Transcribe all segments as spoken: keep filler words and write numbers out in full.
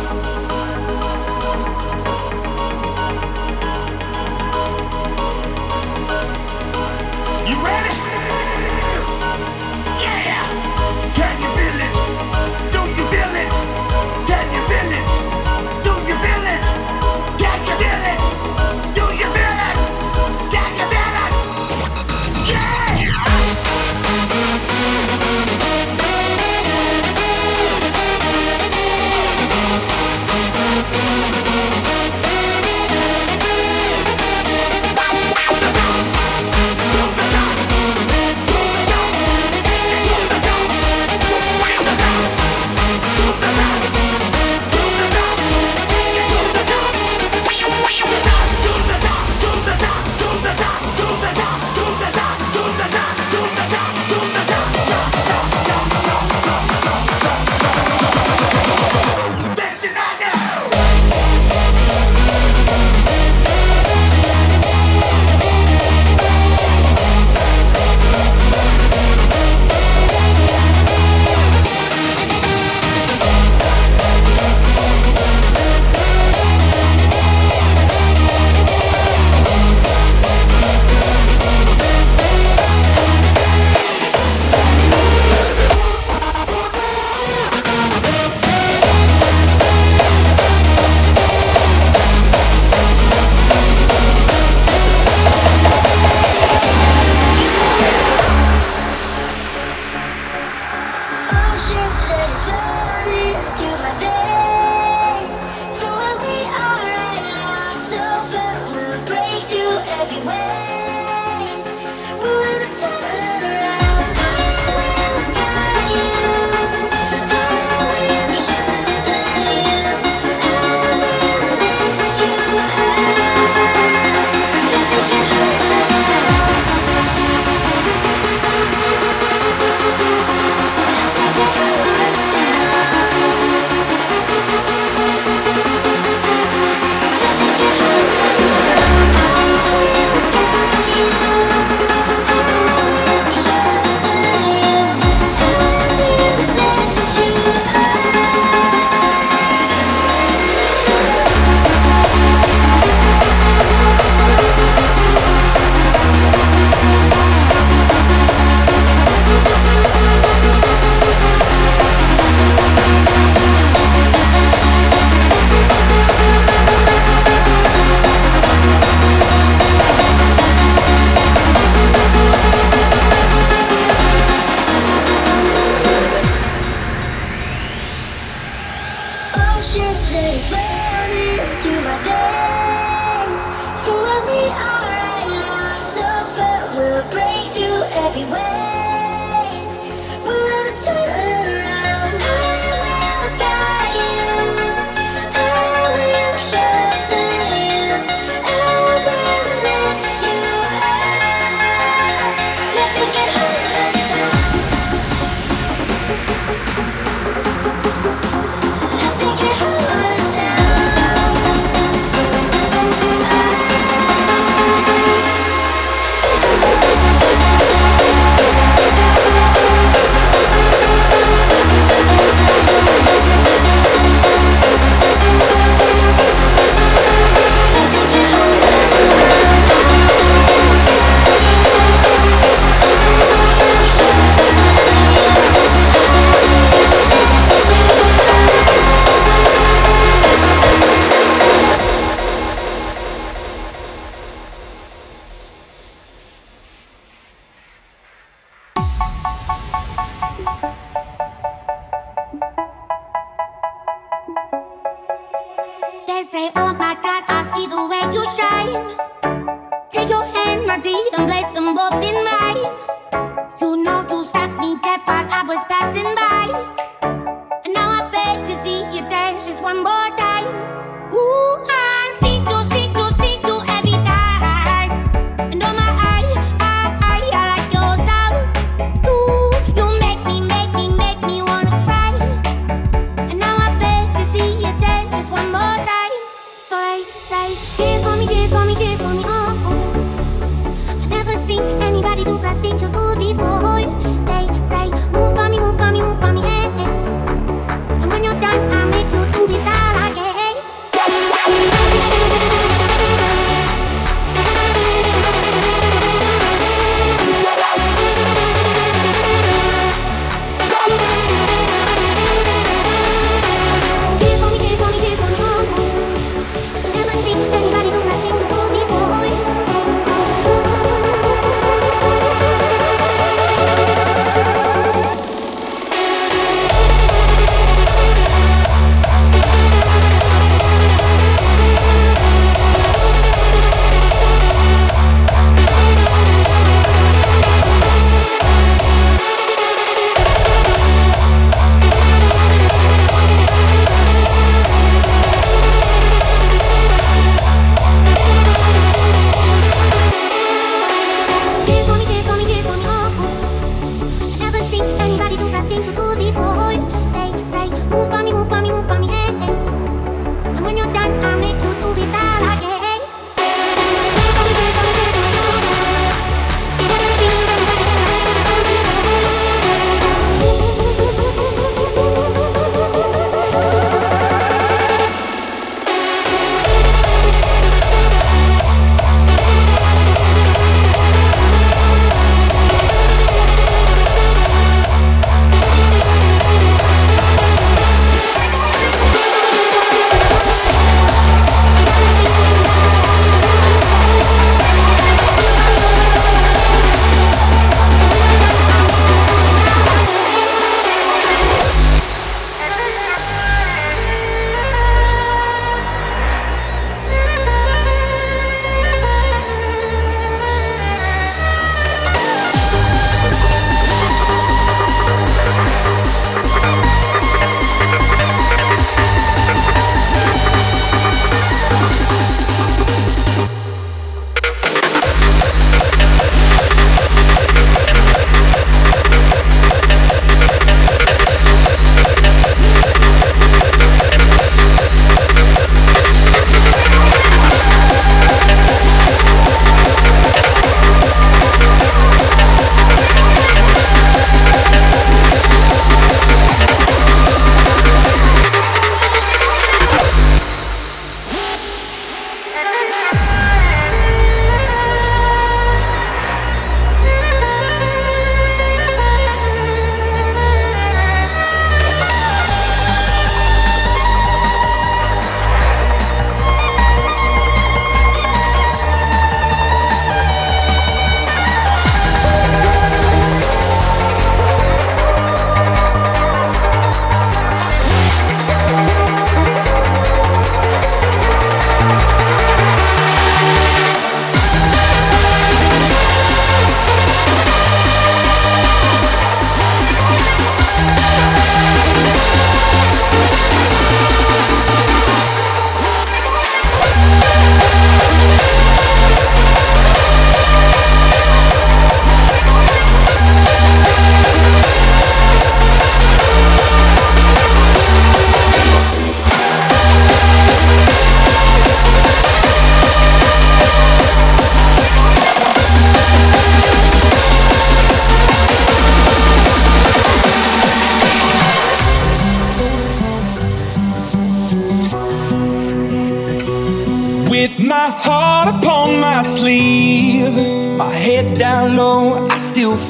Dance for me, dance for me, dance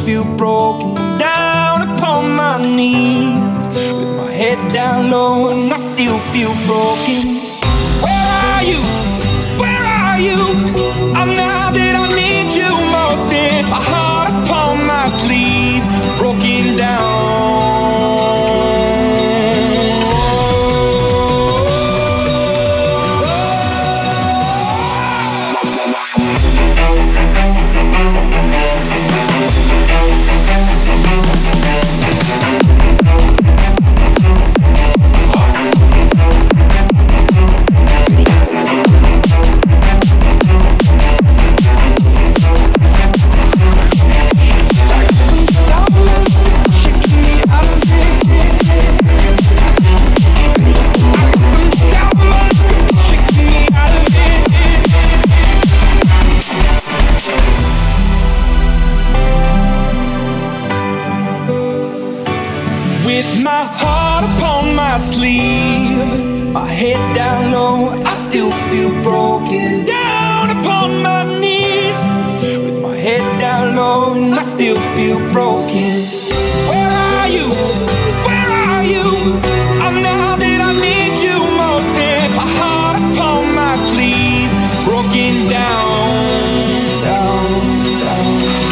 feel broken. Down upon my knees, with my head down low, and I still feel broken. Where are you? Where are you? I'm now that I need you most, and my heart upon my sleeve, broken down. With my heart upon my sleeve, my head down low, I still feel broken. Down upon my knees, with my head down low, and I still feel broken. Where are you? Where are you? I'm now that I need you most, and my heart upon my sleeve, broken down, down, down.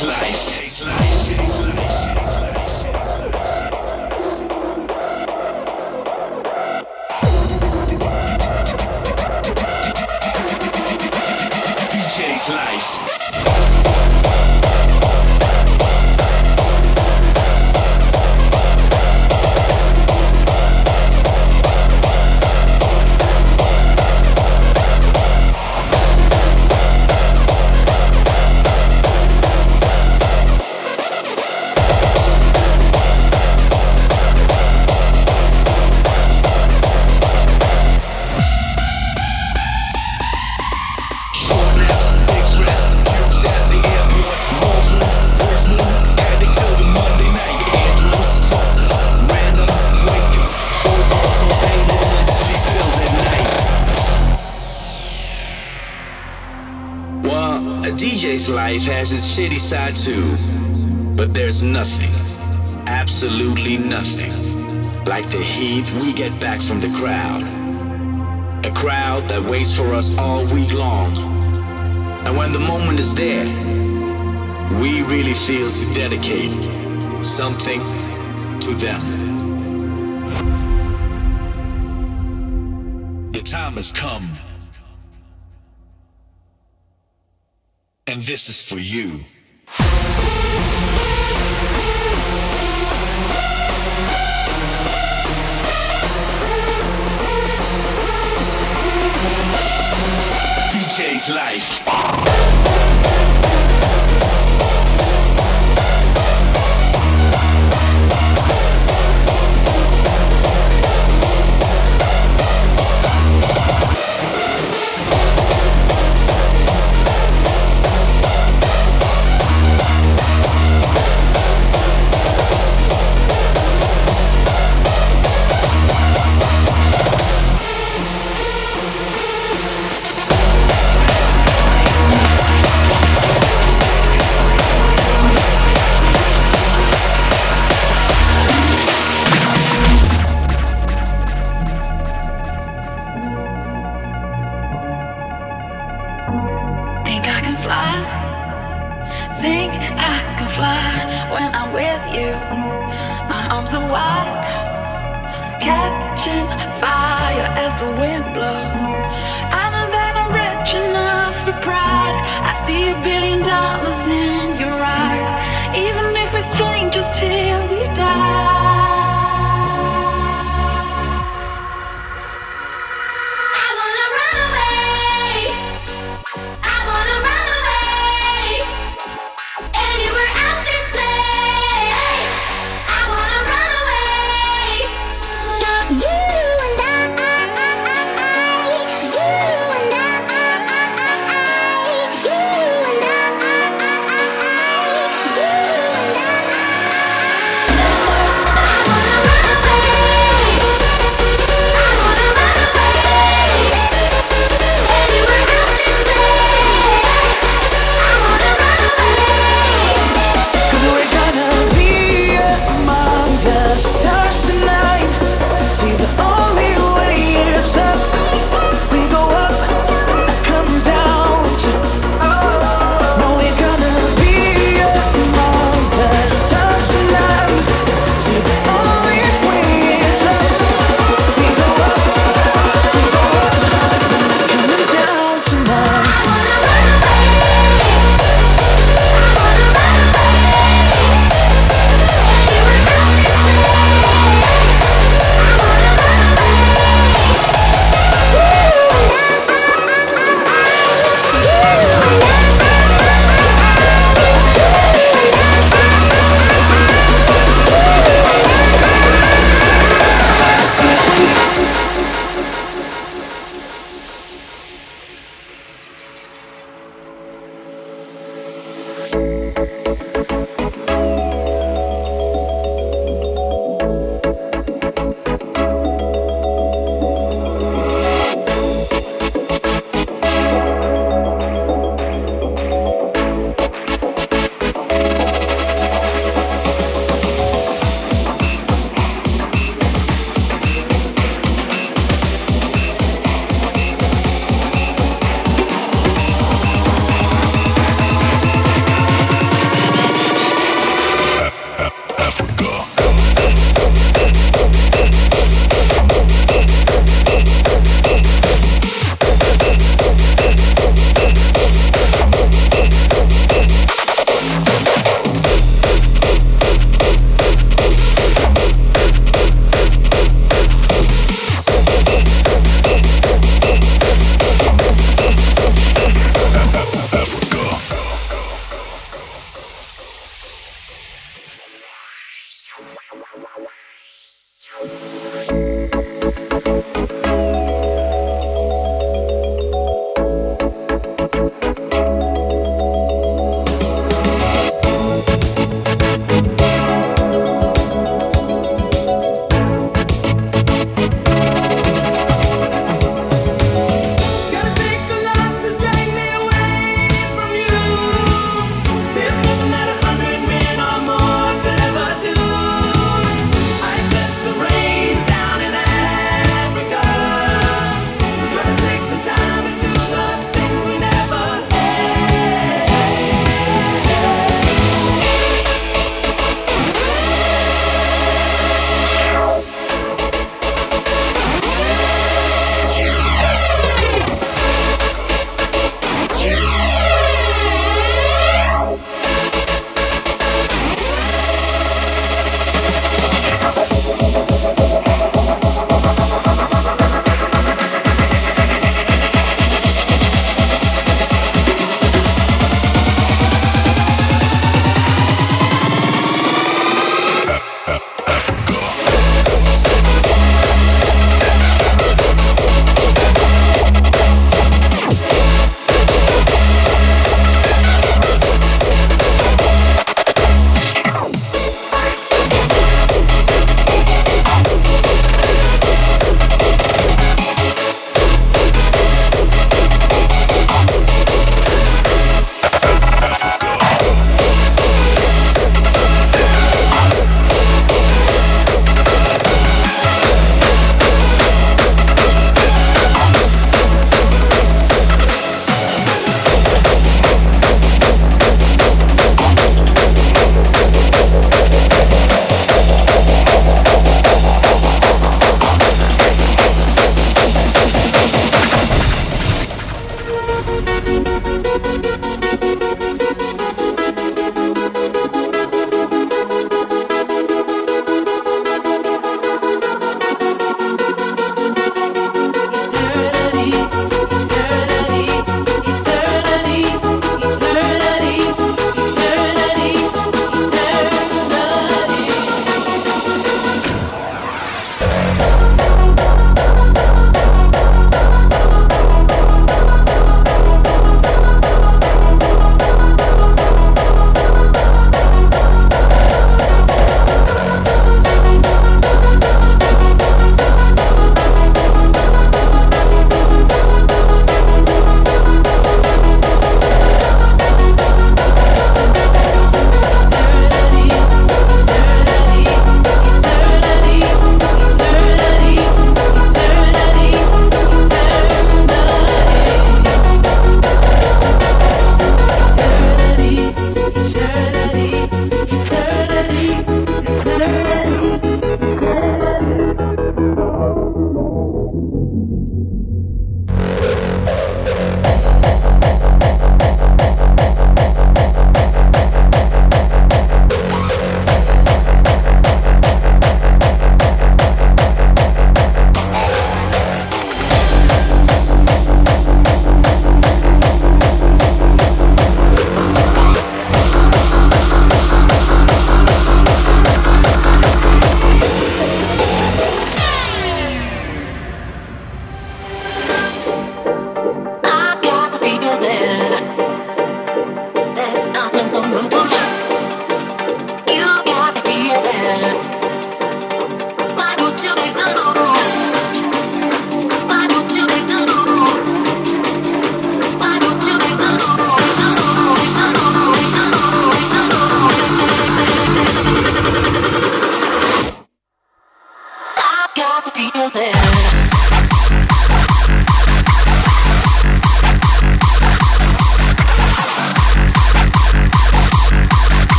J's Life. D J's Life. D J's life has its shitty side too, but there's nothing, absolutely nothing, like the heat we get back from the crowd. A crowd that waits for us all week long. And when the moment is there, we really feel to dedicate something to them. The time has come. And this is for you. D J's Life. Think I can fly when I'm with you. My arms are wide, catching fire as the wind blows. I know that I'm rich enough for pride. I see a billion dollars in your eyes, even if we're strangers till we die. You and I, I, I, I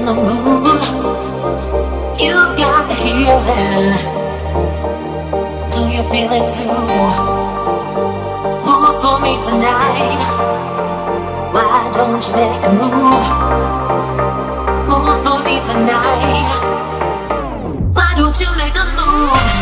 in the mood. You've got the healing. Do you feel it too? Move for me tonight. Why don't you make a move? Move for me tonight. Why don't you make a move?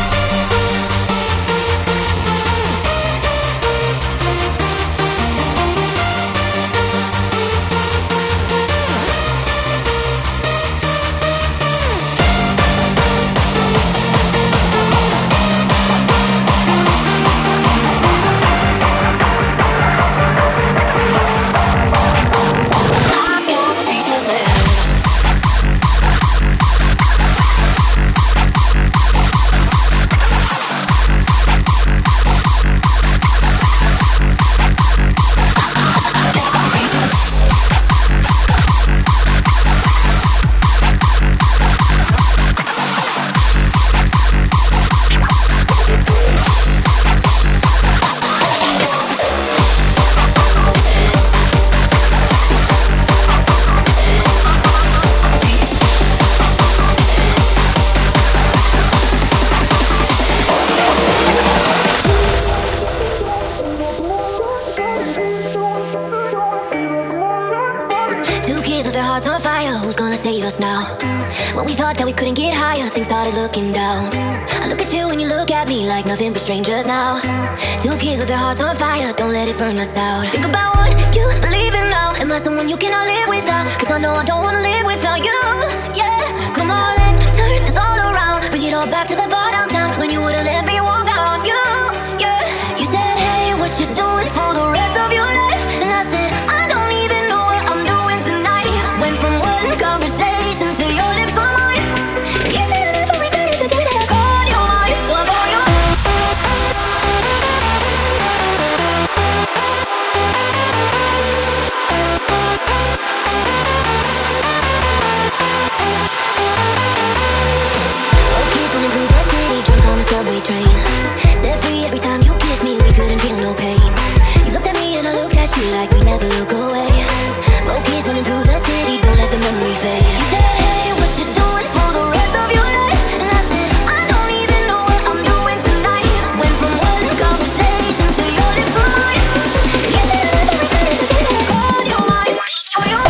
Save us now. When we thought that we couldn't get higher, things started looking down. I look at you and you look at me like nothing but strangers now. Two kids with their hearts on fire, don't let it burn us out. Think about what you believe in now. Am I someone you cannot live without? Cause I know I don't wanna live without you. Yeah, come on, let's turn this all around. Bring it all back to the bar downtown when you would've let me walk out. You, yeah, you said, hey, what you doing for the rest of your life? And I said, I don't even know what I'm doing tonight. Went from one conversation to your lips on mine. You said I never regretted the day that I called you mine. So I call you. Oh, kids running through the city, drunk on the subway train. Set free every time you kiss me, we couldn't feel no pain. You looked at me and I looked at you like we never look away. Oh, kids running through the city, don't let the memory fade. You said, hey, what you doing for the rest of your life? And I said, I don't even know what I'm doing tonight. Went from one conversation to your lips on mine. You said I never regretted the day that I called you mine. Oh, you.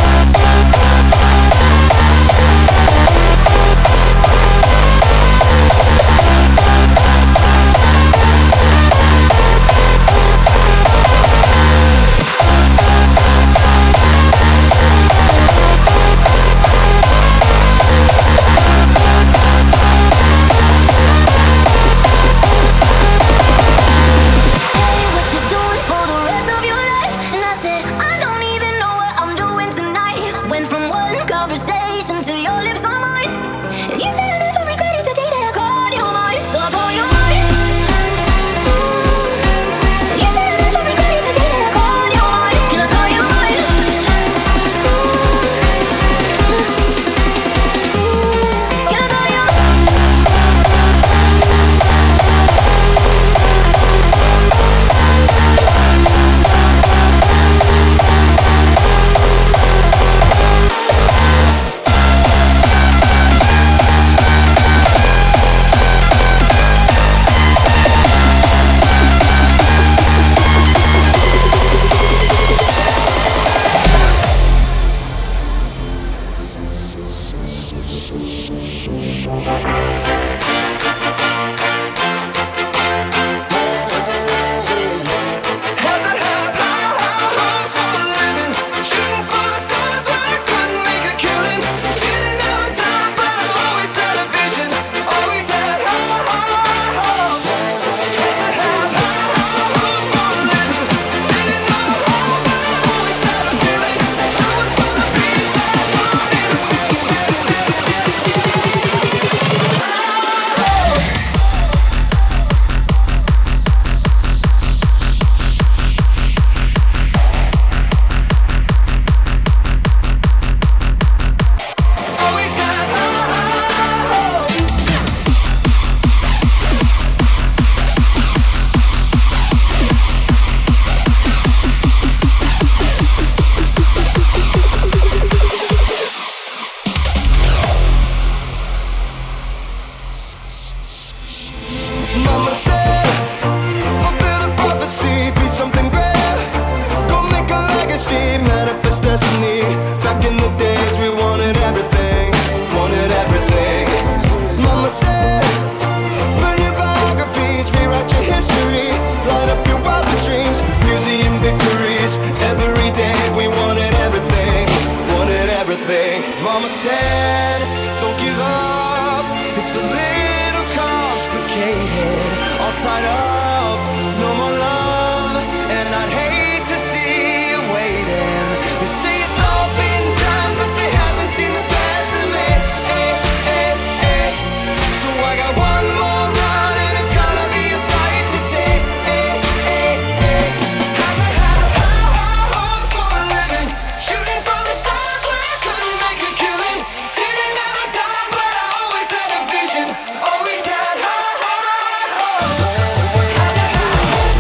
Mama said, don't give up, it's a little complicated. All tied up, no more love, and I'd hate to see you waiting. They say it's all been done, but they haven't seen the best of me. Eh, eh, eh. So I got one more run, and it's gonna be a sight to see. Eh, eh, eh. Had to have high hopes for a living, shooting for the stars when I couldn't make a killing. Didn't have a dime, but I always had a vision. Always had high, high hopes. Had to have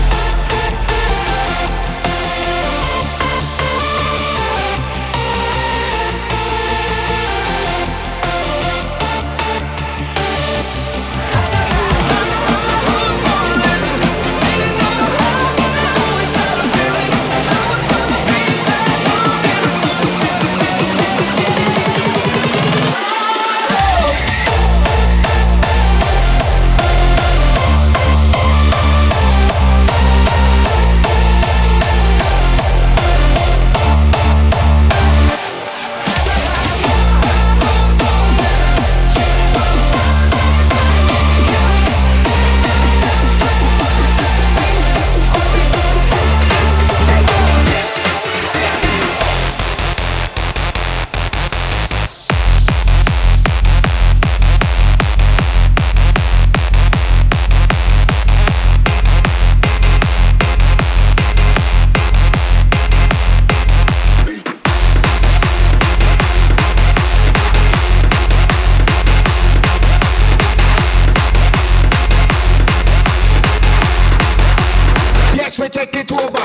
we take it over.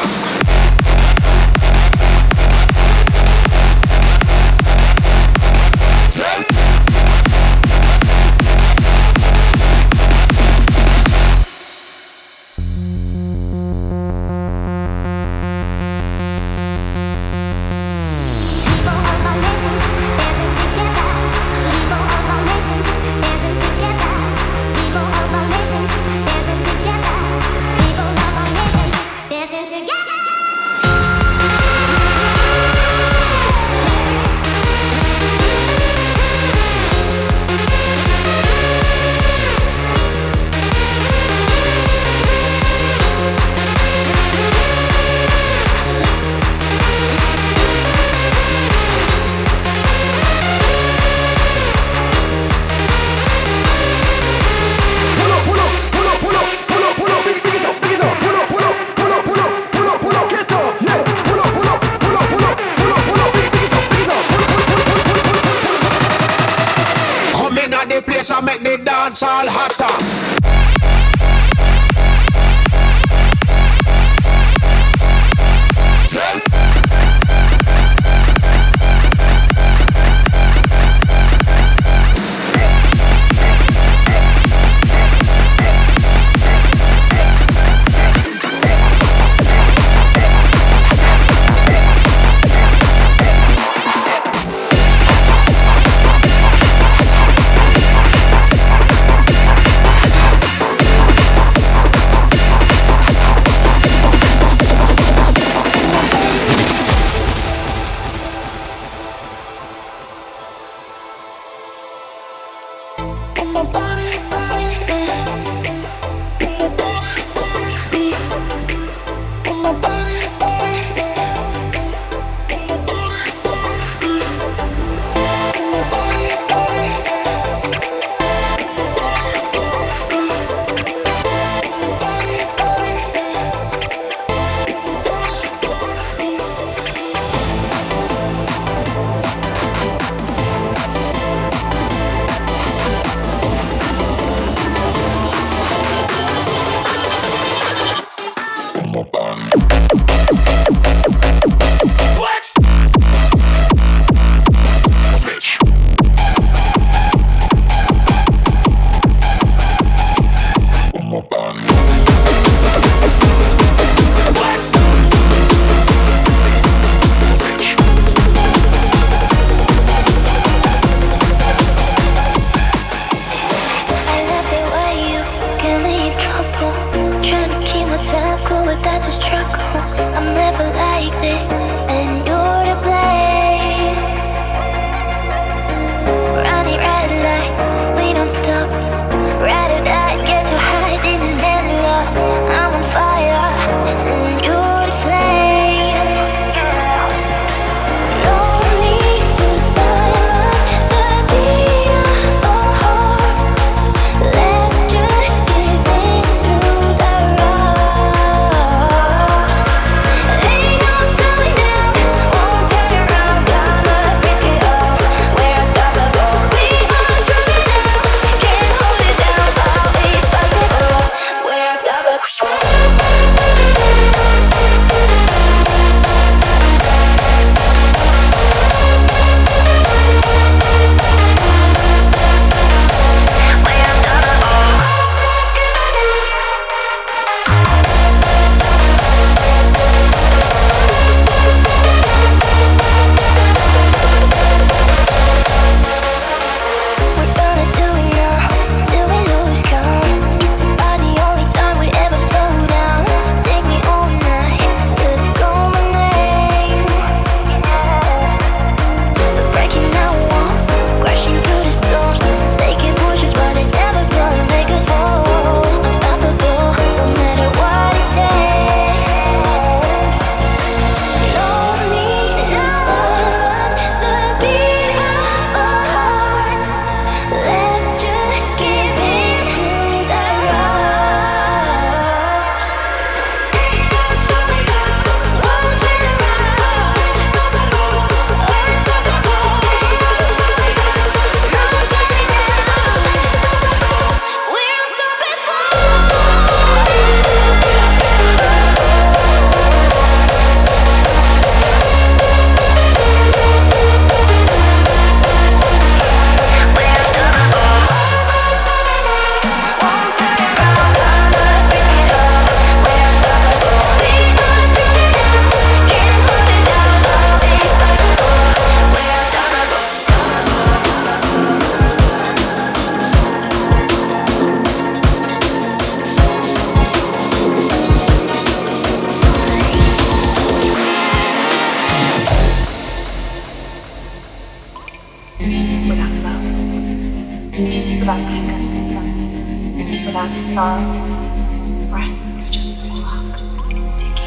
Make the dance all hotter. without love, without anger, without sorrow. Breath is just a clock ticking.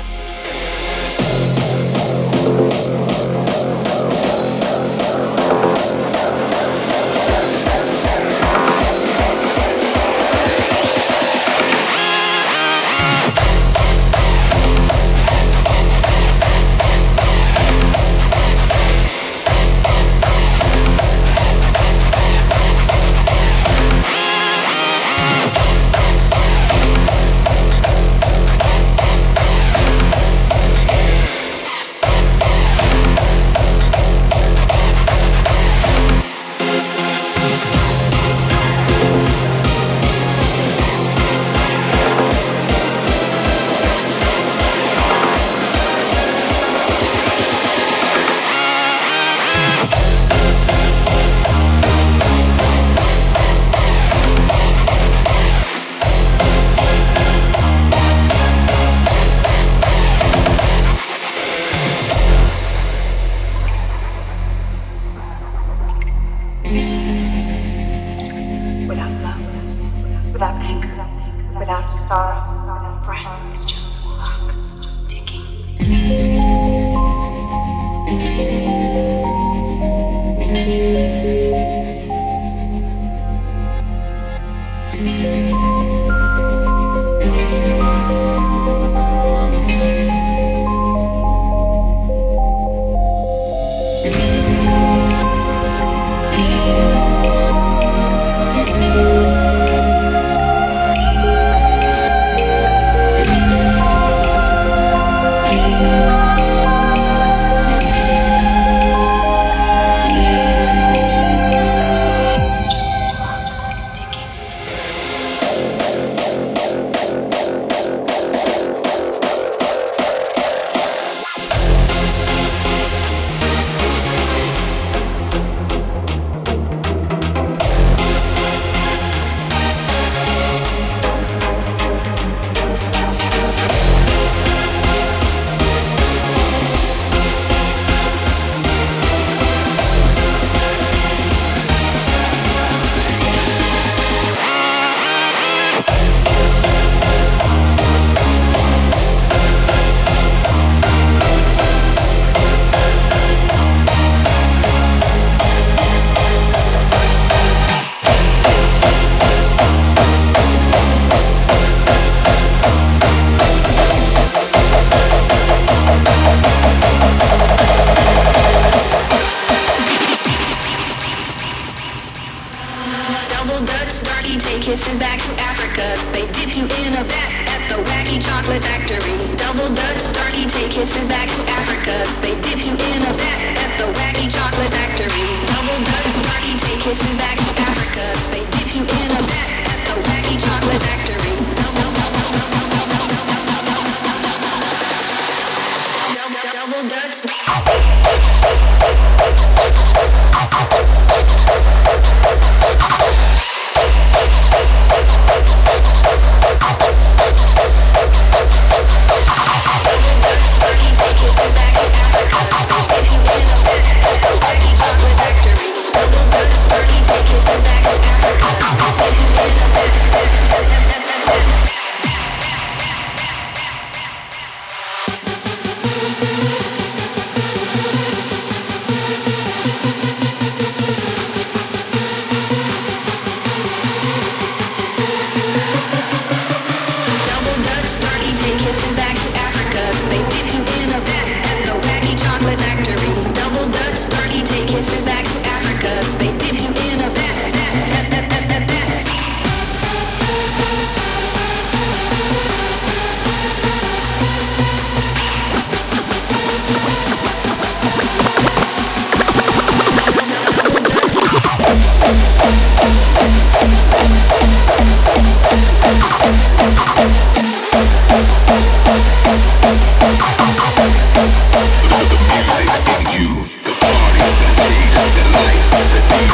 The music in you, the party, the stage, the life, the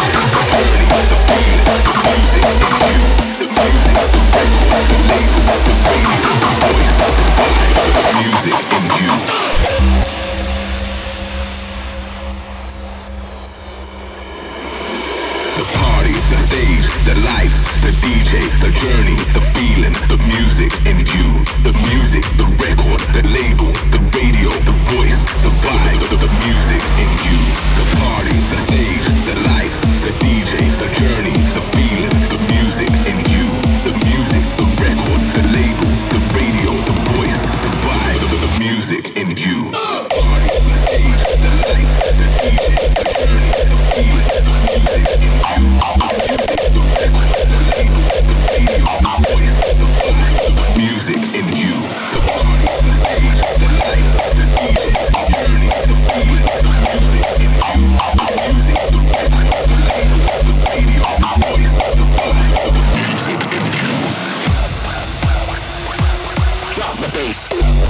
The party, the stage, the lights, the D J, the journey, the feeling, the music in you. The music, the record, the label, the radio, the voice, the vibe, the, the music in you. The party, the stage, the lights, the D J, the journey, the feeling, the music in you. The music, the record, the label, the radio, the voice, the vibe, the, the music in you. The party, the stage, the lights, the D J, the journey, the feeling, the music in you. The music, the record, the label, the radio, the voice, the vibe, the music in you. The party, the stage, the lights, the D J, the journey, the feeling, the music in you. The music, the record, the label, the radio, the voice, the vibe, the music in you. Drop the bass.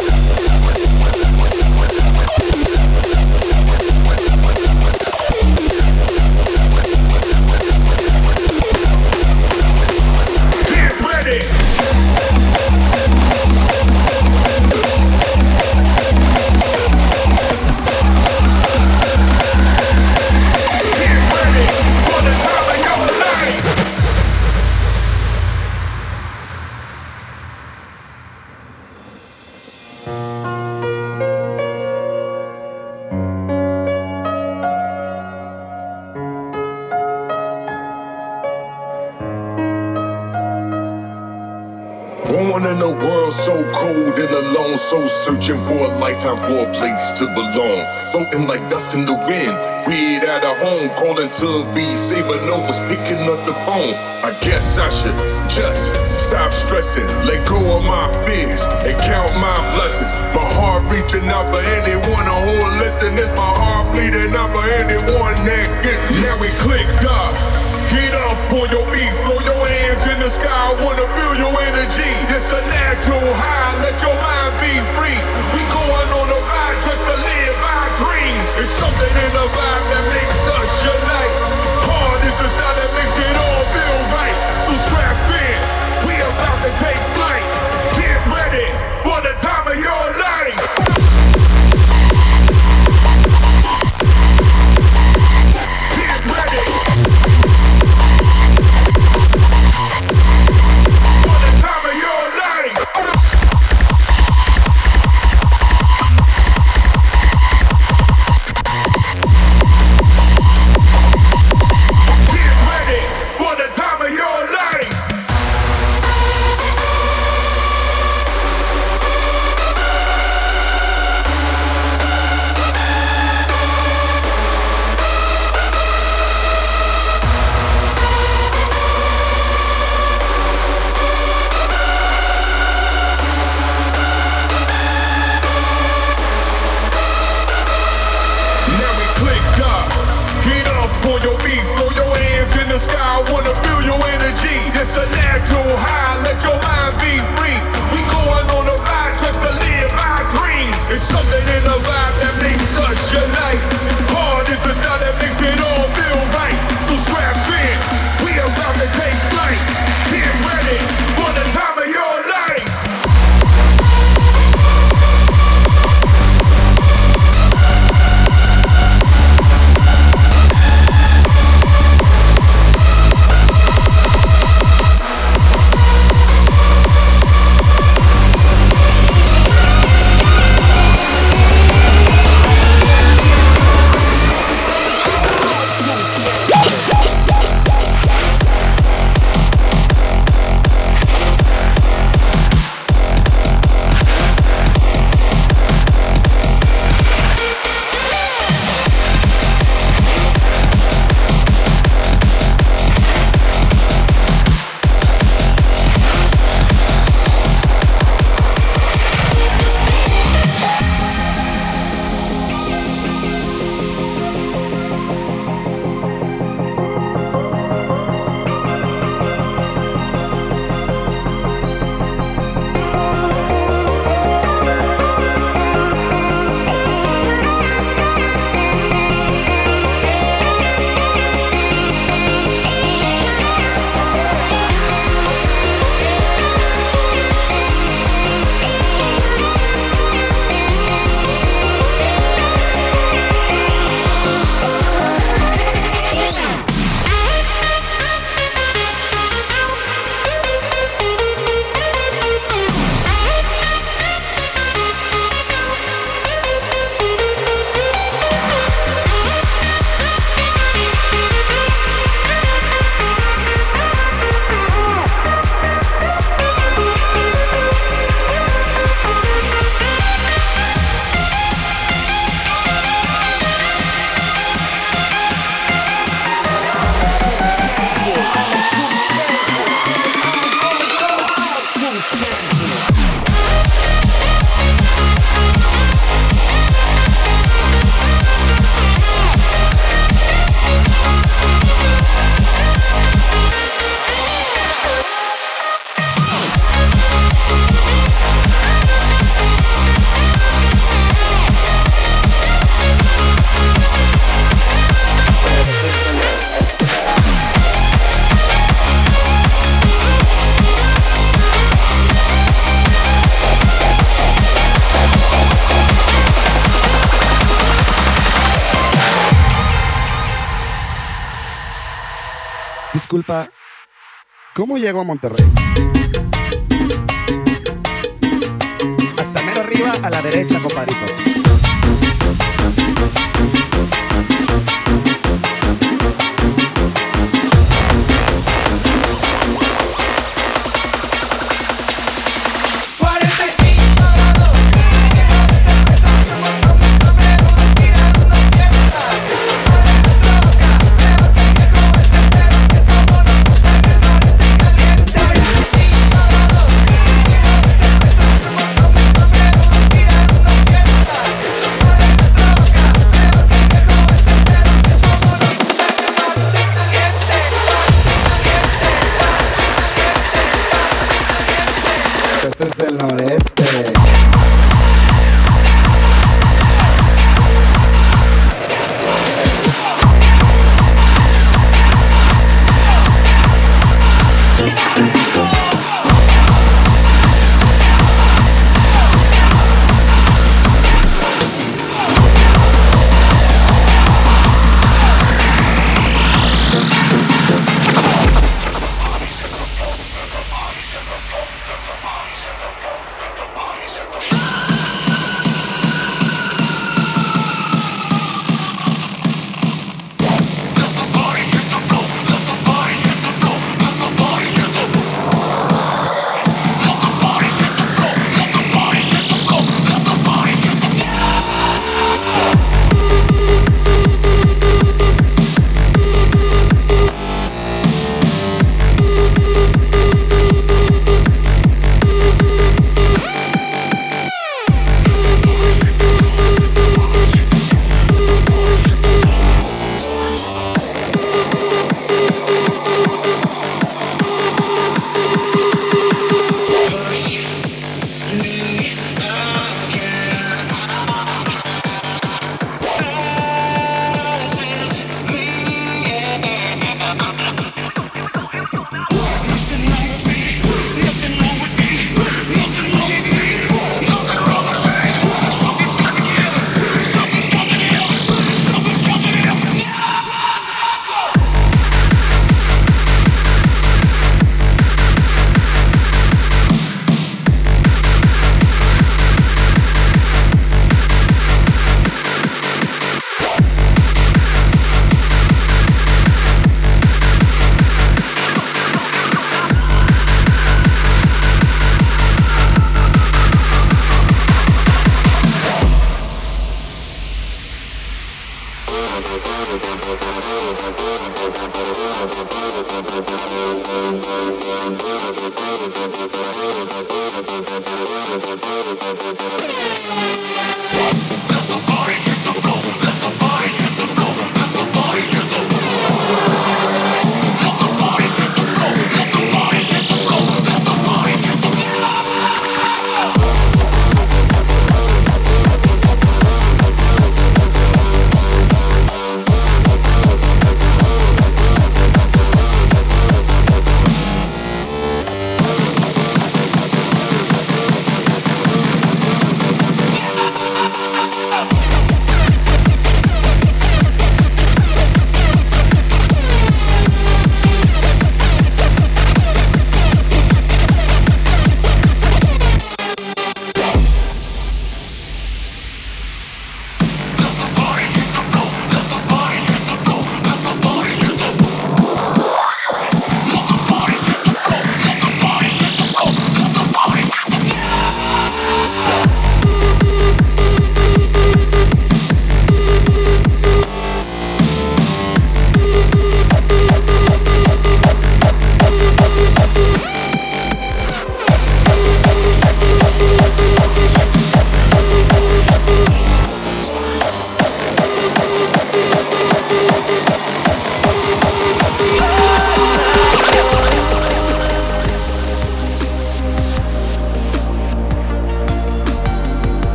So searching for a lifetime for a place to belong. Floating like dust in the wind. Weird at a home, calling to be safe, but no one's picking up the phone. I guess I should just stop stressing, let go of my fears, and count my blessings. My heart reaching out for anyone who will listen. It's my heart bleeding out for anyone that gets it. Now we clicked up. Get up on your feet, throw your hands in the sky. Wanna feel your energy. It's a natural high. Let your mind be free. We going on a ride just to live our dreams. It's something in the vibe that makes us unite. Hard is the style that makes it all feel right. So strap in, we about to take flight. Get ready for the time of your life. Get ready. Disculpa, ¿cómo llego a Monterrey? Hasta mero arriba a la derecha, compadrito. Este es el noreste.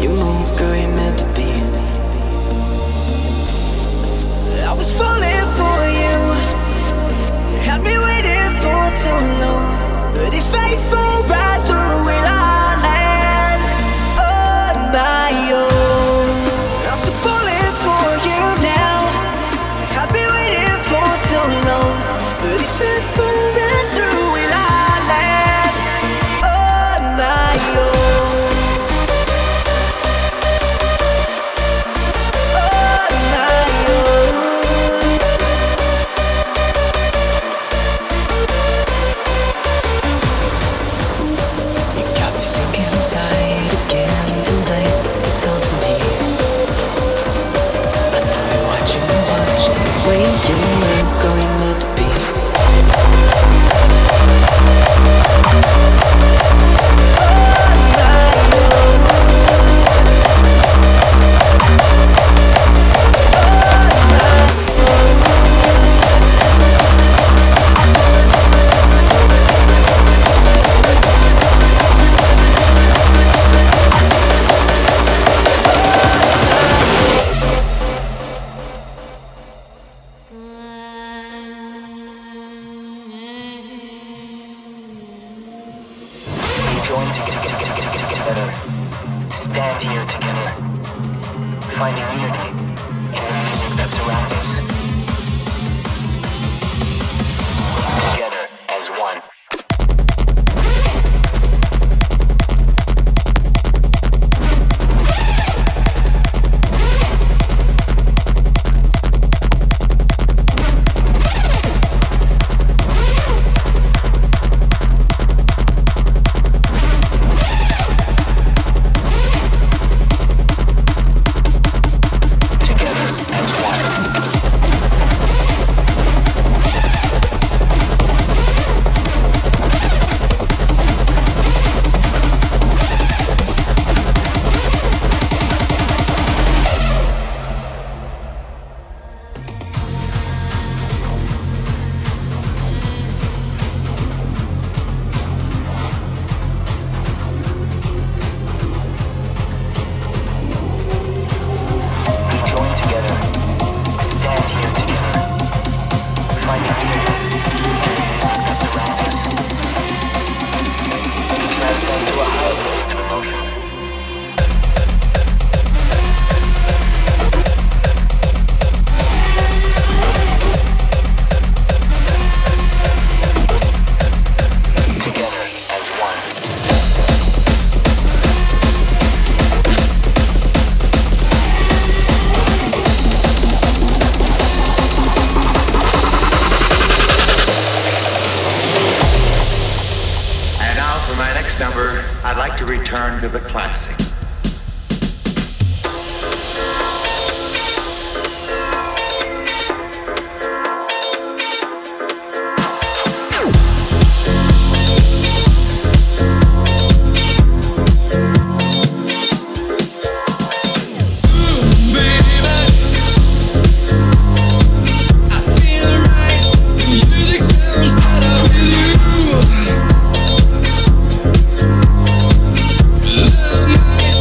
you move, girl, you're meant to be. I was falling for you, had me waiting for so long, but if I fall right through it, I'll land on my own. I'm still falling for you now, had me waiting for so long, but if I fall right through it, I'll land on my own. On my own. You got me sick inside again tonight. It's all to me. I know you're watching, watching the way you move, girl, you're meant to be. Join together, stand here together, finding unity in the music that surrounds us. Together as one. I'd like to return to the classic. Love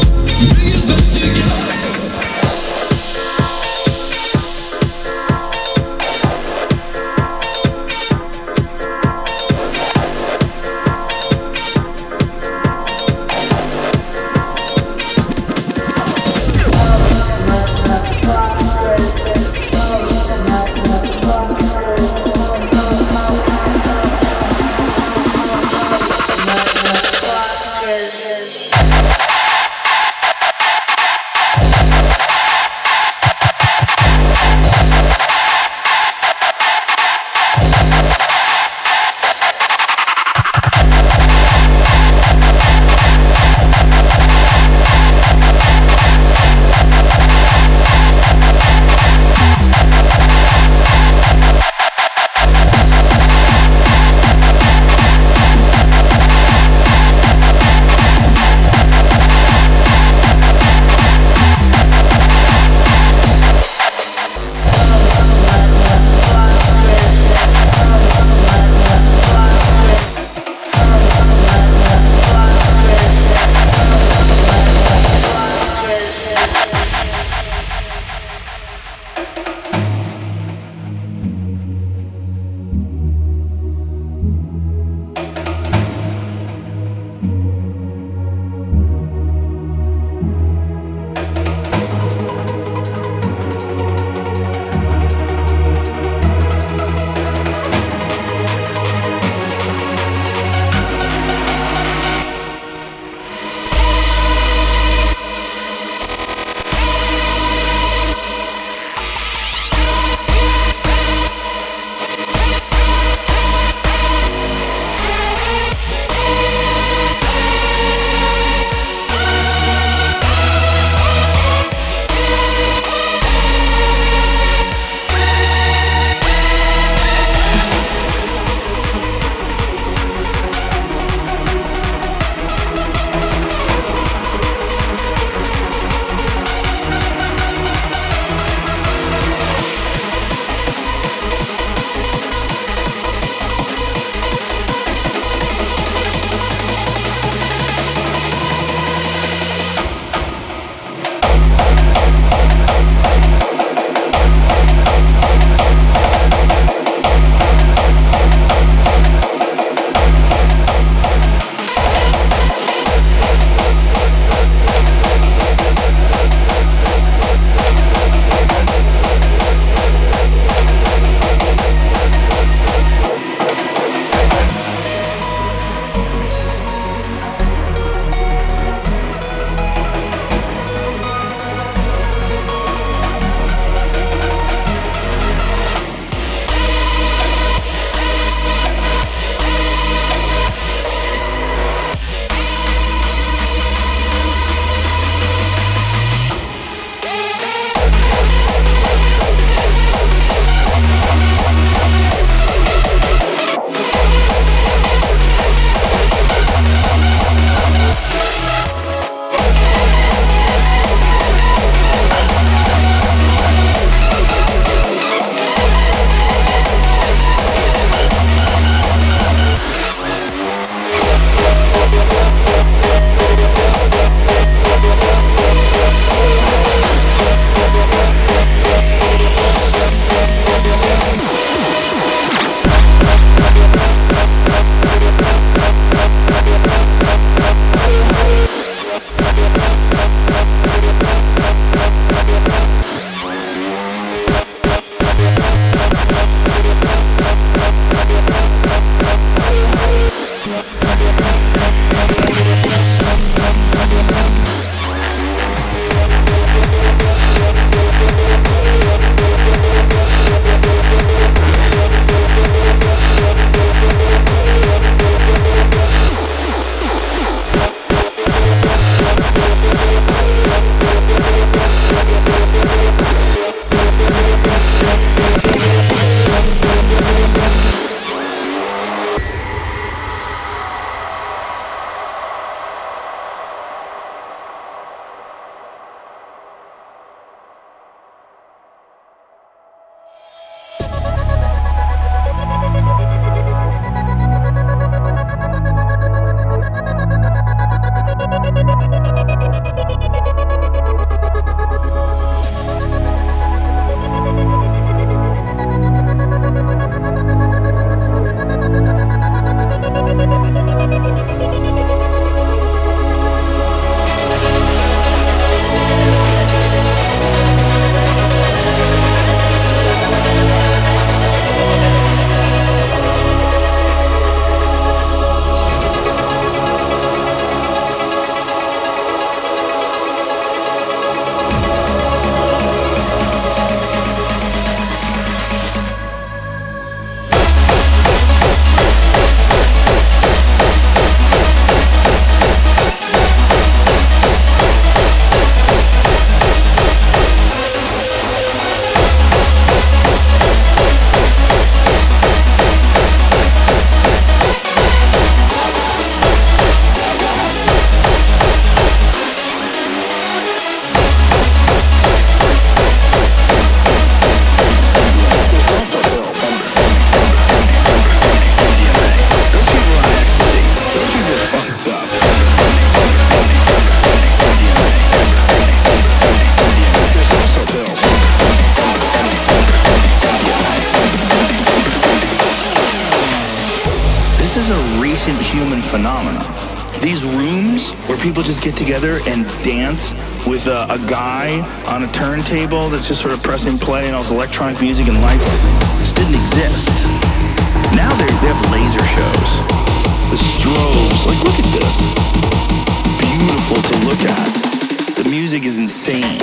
phenomenon. These rooms where people just get together and dance with a, a guy on a turntable that's just sort of pressing play and all this electronic music and lights, this didn't exist. Now they have laser shows, the strobes. Like, look at this. Beautiful to look at. The music is insane.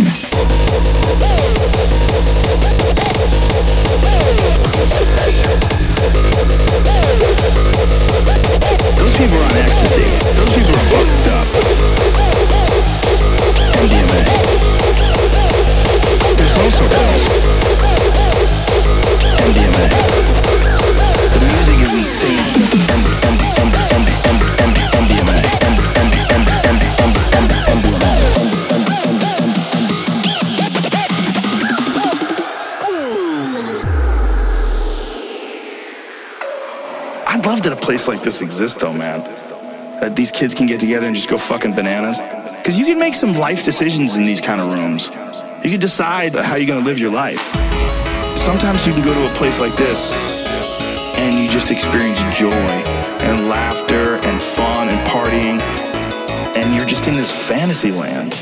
Those people are on ecstasy. Those people are fucked up. M D M A. There's also pills. M D M A. The music is insane. M D M A. M D M A. M D M A. M D M A. M D M A. M D M A. M D M A. I'd love that a place like this exists, though, man. That these kids can get together and just go fucking bananas. Because you can make some life decisions in these kind of rooms. You can decide how you're going to live your life. Sometimes you can go to a place like this and you just experience joy and laughter and fun and partying, and you're just in this fantasy land.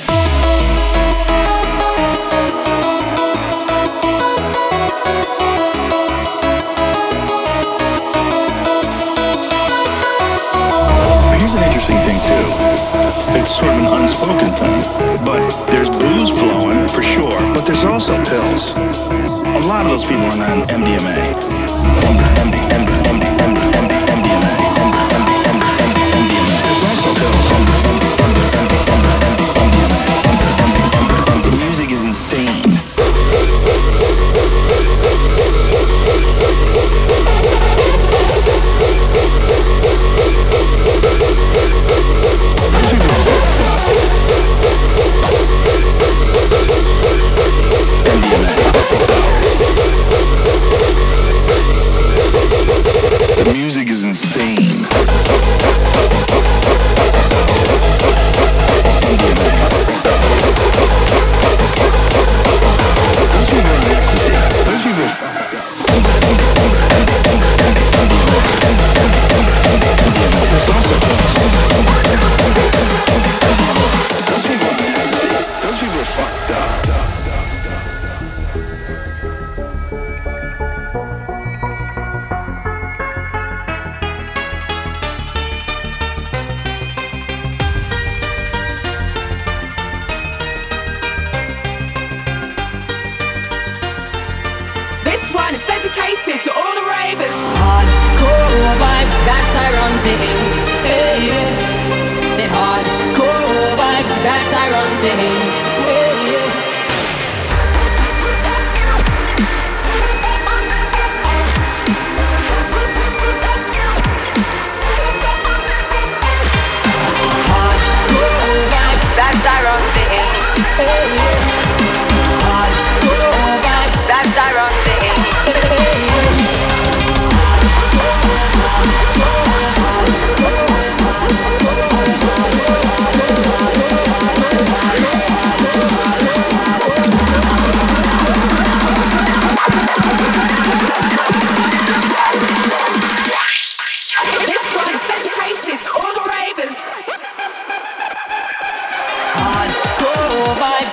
Here's an interesting thing too. It's sort of an unspoken thing, but there's booze flowing for sure, but there's also pills. A lot of those people are on M D M A. M D M A. M D M A. M D M A. M D M A. There's also pills. The music is insane. The music is insane. Those people are in ecstasy. Those people are fucked up. There's also those people are in ecstasy. Those people are fucked up. Dedicated to all the ravers. Hardcore vibes that Tyrone things. Hey, yeah. Said hardcore vibes that Tyrone things. Hey, yeah. Hardcore vibes that Tyrone things. Hey, yeah. Hardcore vibes that Tyrone things. This one is dedicated to all the ravers. Hardcore vibes.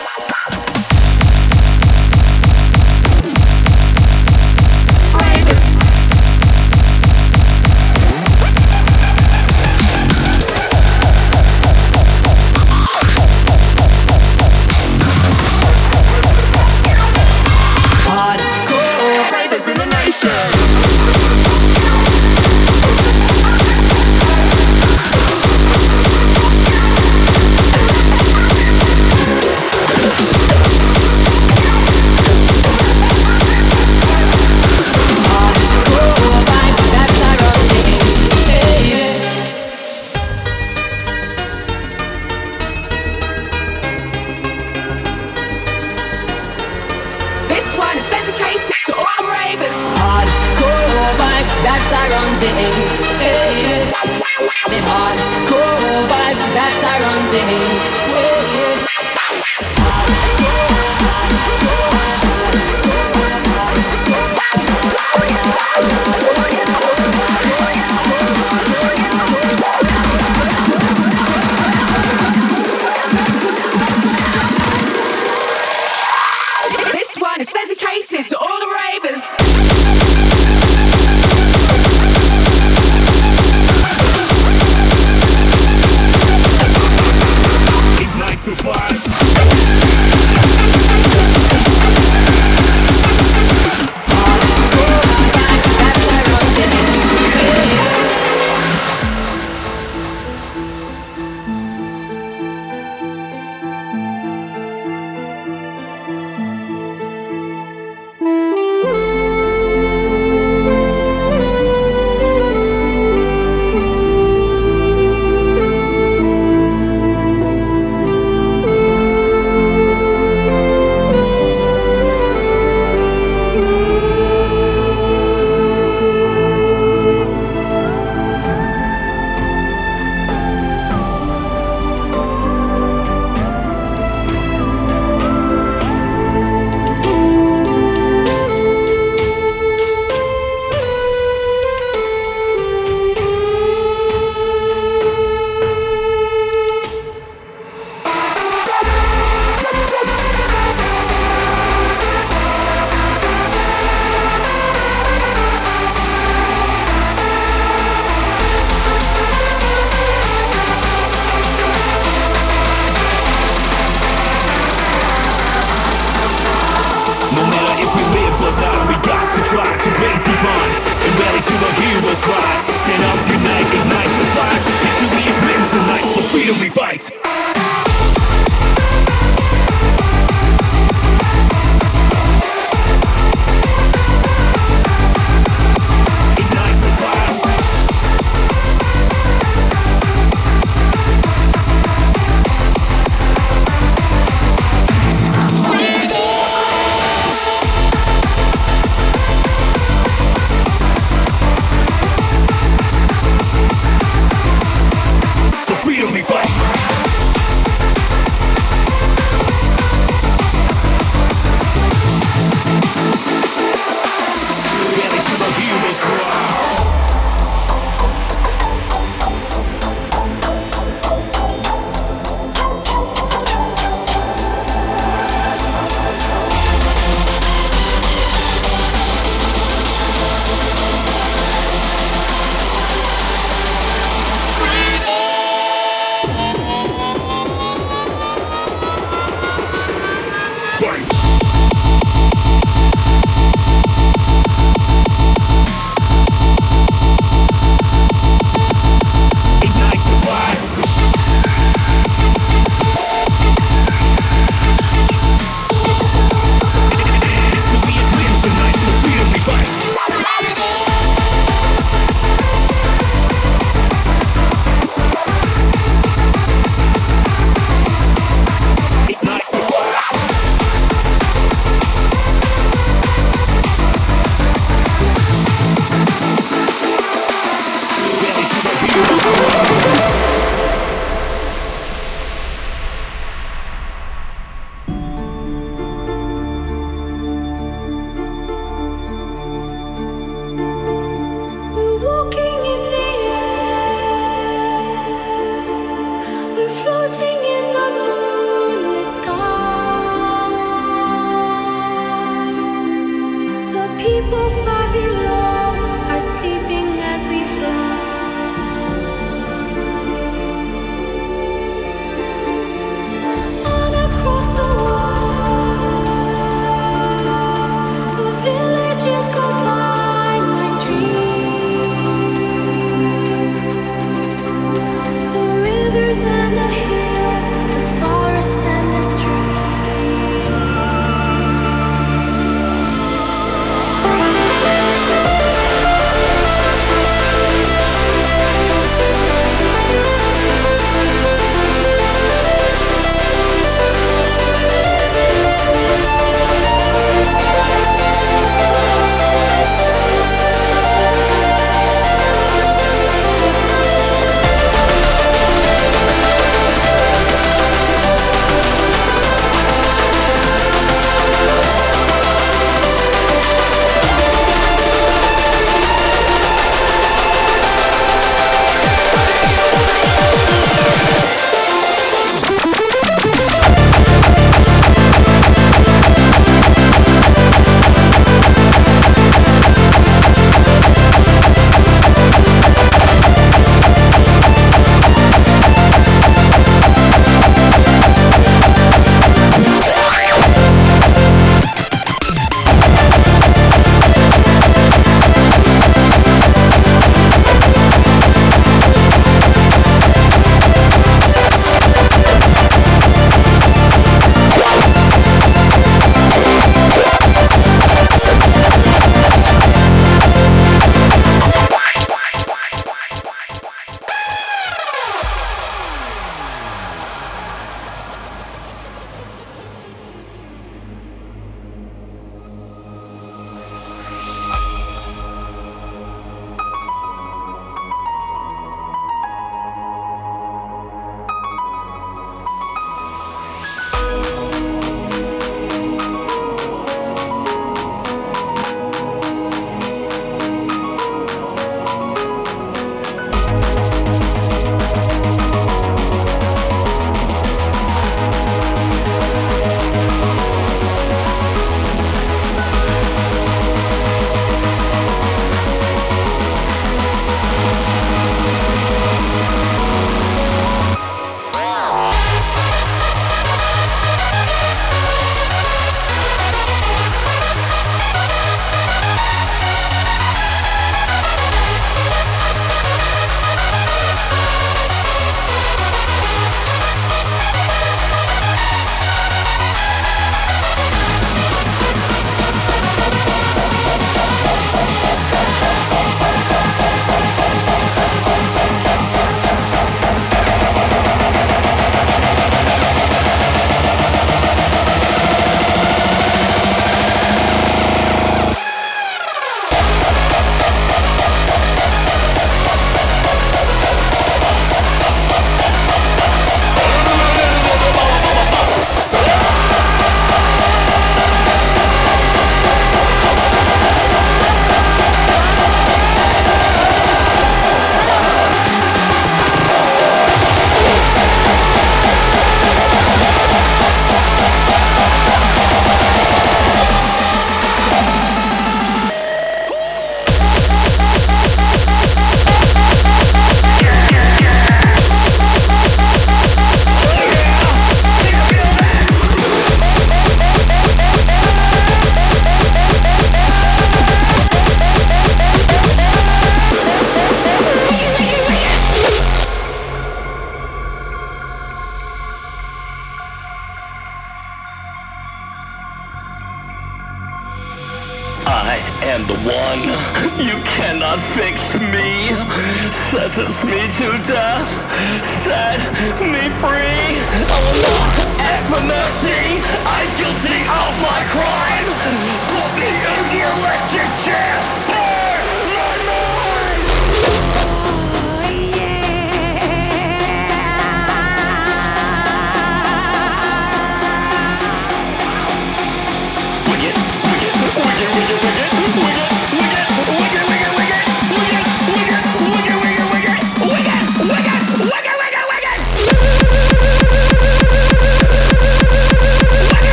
I am the one. You cannot fix me. Sentence me to death. Set me free. I will not ask for mercy. I'm guilty of my crime. Put me in the electric chair.